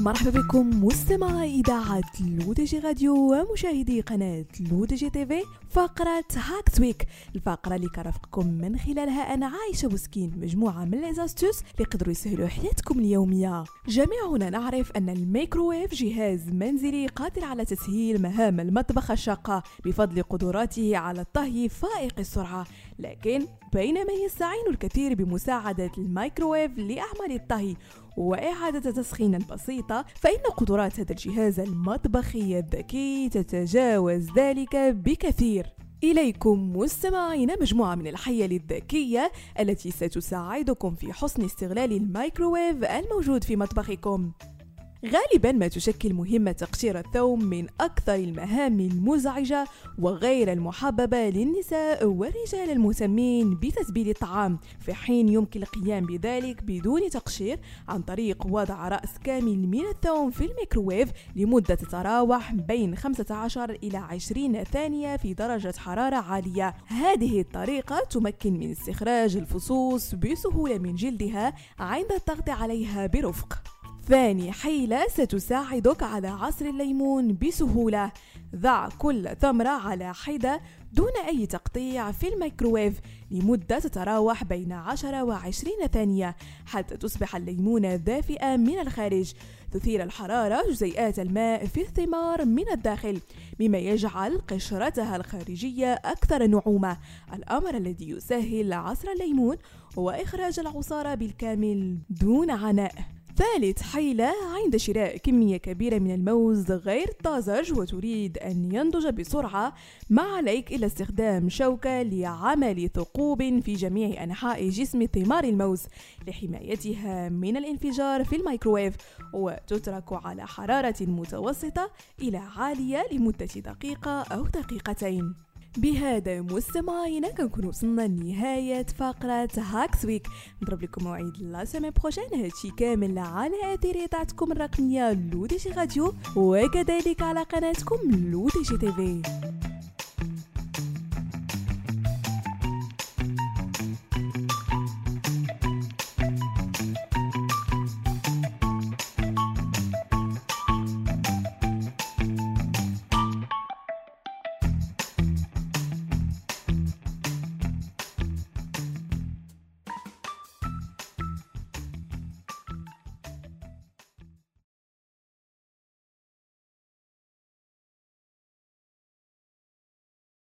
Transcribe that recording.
مرحبا بكم مستمعي إذاعة لودجي راديو ومشاهدي قناة لودجي تيفي. فقرة هاكس ويك، الفقرة اللي كرفقكم من خلالها أنا عايشة بوسكين مجموعة من ليزاستوس اللي يقدروا يسهلوا حياتكم اليومية. جميعنا نعرف أن الميكروويف جهاز منزلي قادر على تسهيل مهام المطبخ الشاقة بفضل قدراته على الطهي فائق السرعة، لكن بينما يستعين الكثير بمساعدة الميكروويف لأعمال الطهي وإعادة تسخين البسيطة، فإن قدرات هذا الجهاز المطبخي الذكي تتجاوز ذلك بكثير. إليكم مستمعين مجموعة من الحيل الذكية التي ستساعدكم في حسن استغلال الميكروويف الموجود في مطبخكم. غالبا ما تشكل مهمة تقشير الثوم من أكثر المهام المزعجة وغير المحببة للنساء والرجال المهتمين بتتبيل الطعام، في حين يمكن القيام بذلك بدون تقشير عن طريق وضع رأس كامل من الثوم في الميكروويف لمدة تتراوح بين 15 إلى 20 ثانية في درجة حرارة عالية. هذه الطريقة تمكن من استخراج الفصوص بسهولة من جلدها عند الضغط عليها برفق. ثاني حيلة ستساعدك على عصر الليمون بسهولة. ضع كل ثمرة على حدة دون أي تقطيع في الميكروويف لمدة تتراوح بين 10 و 20 ثانية حتى تصبح الليمونة دافئة من الخارج. تثير الحرارة جزيئات الماء في الثمار من الداخل مما يجعل قشرتها الخارجية أكثر نعومة، الأمر الذي يسهل عصر الليمون وإخراج العصارة بالكامل دون عناء. ثالث حيلة، عند شراء كمية كبيرة من الموز غير طازج وتريد أن ينضج بسرعة، ما عليك إلا استخدام شوكة لعمل ثقوب في جميع أنحاء جسم ثمار الموز لحمايتها من الانفجار في الميكروويف، وتترك على حرارة متوسطة إلى عالية لمدة دقيقة أو دقيقتين. بهذا مستمعينا كنكون وصلنا لنهاية فقرة هاكس ويك. نضرب لكم موعد لا سيمين بروجين، هادشي كامل على أثير إذاعتكم الرقمية لودجي راديو وكذلك على قناتكم لودجي تيفي.